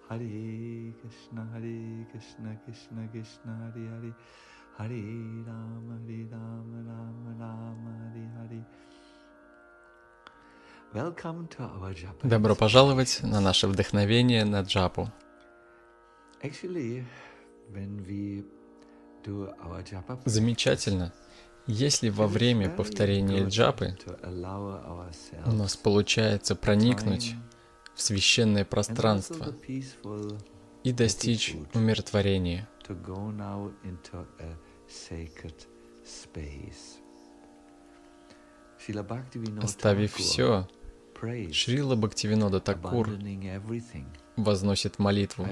Hare Krishna, Krishna Krishna, Hare Hare, Hare Rama, Rama Rama, Hare Hare. Welcome to our Japa. Добро пожаловать на наше вдохновение на джапу. Actually, when we do our Japa, Замечательно, если во время повторения джапы у нас получается проникнуть в священное пространство и достичь умиротворения. Оставив все, Шрила Бхактивинода Такур возносит молитву: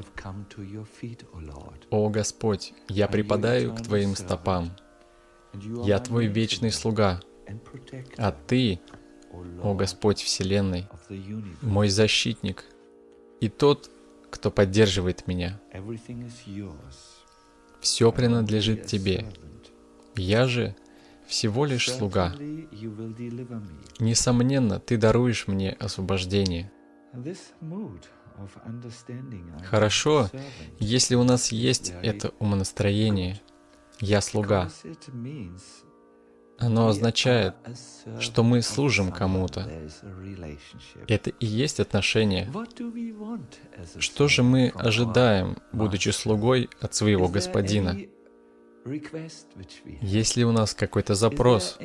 «О Господь, я припадаю к Твоим стопам. Я Твой вечный слуга, а Ты, о Господь Вселенной, мой защитник и тот, кто поддерживает меня. Все принадлежит Тебе. Я же всего лишь слуга. Несомненно, Ты даруешь мне освобождение». Хорошо, если у нас есть это умонастроение «Я слуга». Оно означает, что мы служим кому-то. Это и есть отношения. Что же мы ожидаем, будучи слугой от своего Господина? Есть ли у нас какой-то запрос?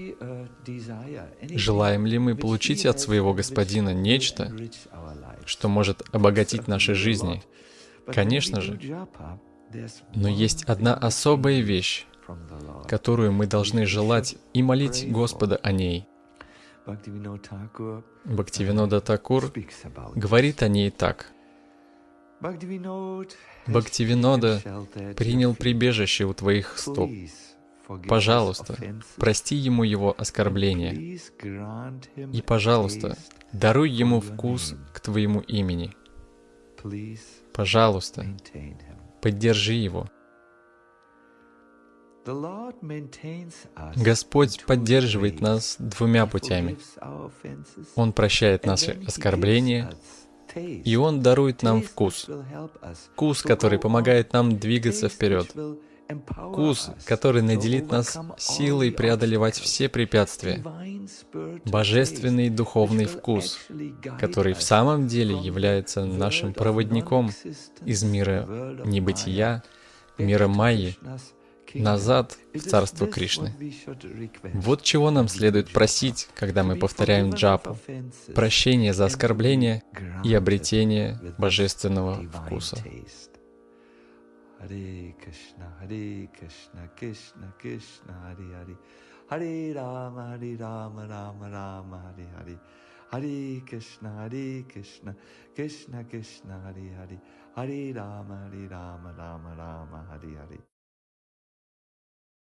Желаем ли мы получить от своего Господина нечто, что может обогатить наши жизни? Конечно же. Но есть одна особая вещь, которую мы должны желать и молить Господа о ней. Бхактивинода Такур говорит о ней так. «Бхактивинода принял прибежище у Твоих стоп. Пожалуйста, прости ему его оскорбления. И, пожалуйста, даруй ему вкус к Твоему имени. Пожалуйста, поддержи его». Господь поддерживает нас двумя путями. Он прощает наши оскорбления, и Он дарует нам вкус. Вкус, который помогает нам двигаться вперед. Вкус, который наделит нас силой преодолевать все препятствия. Божественный духовный вкус, который в самом деле является нашим проводником из мира небытия, мира Майи, назад в царство Кришны. Вот чего нам следует просить, когда мы повторяем джапу: прощение за оскорбление и обретение божественного вкуса. Hare Krishna, Krishna Krishna, Hare Hare, Hare Rama, Rama Rama, Hare Hare, Hare Krishna, Krishna Krishna, Hare Hare, Hare Rama, Rama Rama, Hare Hare.